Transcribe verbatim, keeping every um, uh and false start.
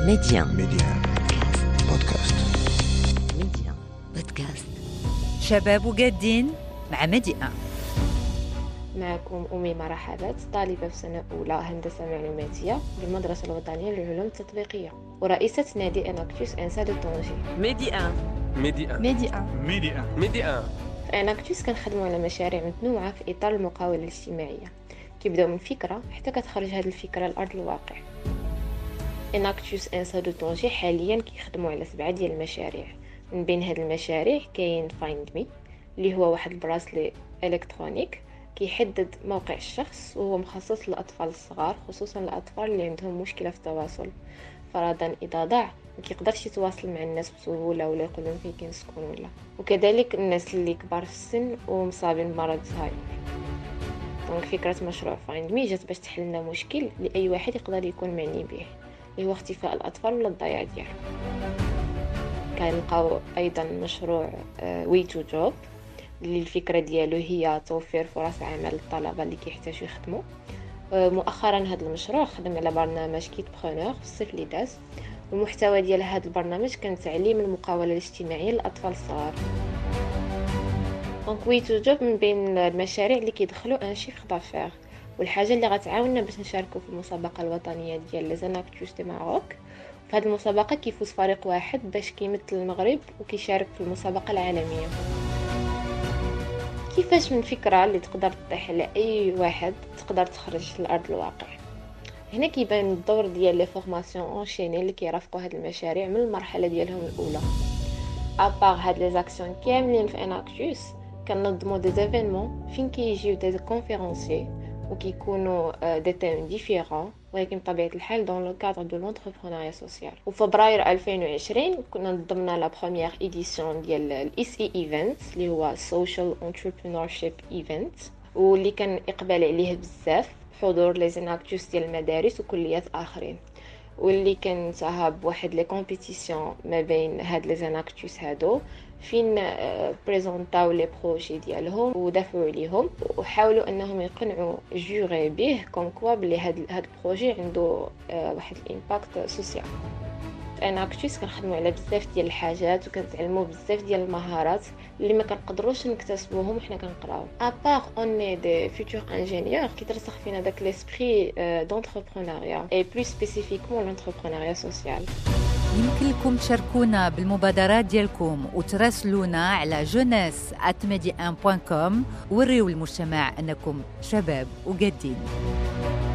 ميديان ميديان بودكاست. ميديان بودكاست. شباب وجادين مع ميديان. معكم أميمة رحابات، طالبة في سنة أولى هندسة معلوماتية بالمدرسة الوطنية للعلوم التطبيقية، ورئيسة نادي إناكتوس إنسا دو طنجي. ميديان ميديان ميديان ميديان ميديان في إناكتوس كنخدموا على مشاريع متنوعة في إطار المقاولة الاجتماعية، كيبداو من فكرة حتى كتخرج هذه الفكرة لأرض الواقع. إناكتوس إنسا دو طنجي حاليا كيخدموا على سبعة ديال المشاريع. من بين هاد المشاريع كاين فايند مي اللي هو واحد البراسلي الكترونيك كيحدد موقع الشخص، وهو مخصص للاطفال الصغار، خصوصا الاطفال اللي عندهم مشكله في التواصل، فرضا اذا ضاع ما كيقدرش يتواصل مع الناس بسهوله ولا يقول لهم فين كنسكن ولا. وكذلك الناس اللي كبار في السن ومصابين بمرض الزهايمر. دونك فكره مشروع فايند مي جات باش تحل لنا مشكل اللي اي واحد يقدر يكون معني به، اللي هو اختفاء الاطفال ولا الضياع ديالهم. كنلقاو ايضا مشروع وي تو جوب اللي الفكره ديالو هي توفير فرص عمل للطلبه اللي كيحتاجوا يخدموا. مؤخرا هذا المشروع خدم على برنامج كيت برونور في الصيف اللي داز، والمحتوى ديال هذا البرنامج كان تعليم المقاوله الاجتماعيه للاطفال الصغار. دونك وي تو جوب من بين المشاريع اللي كيدخلوا ان شيفر دافير، والحاجه اللي غتعاوننا باش نشاركوا في المسابقه الوطنيه ديال لي زاناكتوس دي ماروك. في هذه المسابقه كيفوز فريق واحد باش كيمثل المغرب وكيشارك في المسابقه العالميه. كيفاش من فكرة اللي تقدر تطيح على أي واحد تقدر تخرج لأرض الواقع؟ هنا كيبان الدور ديال لي فورماسيون اونشيني اللي كيرافقوا هاد المشاريع من المرحلة ديالهم الأولى. أبار هاد لي زاكسيون كاملين في إناكتوس كننظموا دي زيفينمون فين كيجيو دي كونفيرونسي وكيكونوا دي تيم ديفيرون، ولكن بطبيعة الحال دون لو كادر دو لونتربرونيا سوسيال. وفبراير ألفين وعشرين كنا نظمنا لا بروميير إديسيون ديال الاس اي ايفنت اللي هو سوشيال انتربرونورشيب ايفنت، واللي كان اقبال عليه بزاف بحضور لي زاناكتوس ديال المدارس وكليات اخرين، واللي كان انتهى بواحد لي كومبيتيسيون ما بين هاد لي زاناكتوس هادو فين بريزونطاو لي بروجي ديالهم ودافعوا عليهم وحاولوا انهم يقنعوا جوري به كوم كوا بلي هاد هاد البروجي عنده واحد الامباكت سوسيال. في اناكتوس كنخدموا على بزاف ديال الحاجات وكنتعلموا بزاف ديال المهارات اللي ما كنقدروش نكتسبوهم وحنا كنقراو. ابار اوني دي فيتور انجينيور كيترسخ فينا داك ليسبري دونتربرونيا اي بلو سبيسيفيكمون لونتربرونيا سوسيال. يمكن لكم تشاركونا بالمبادرات ديالكم وتراسلونا على جوناس آت ميديان بوان كوم. وريو المجتمع أنكم شباب وجادين.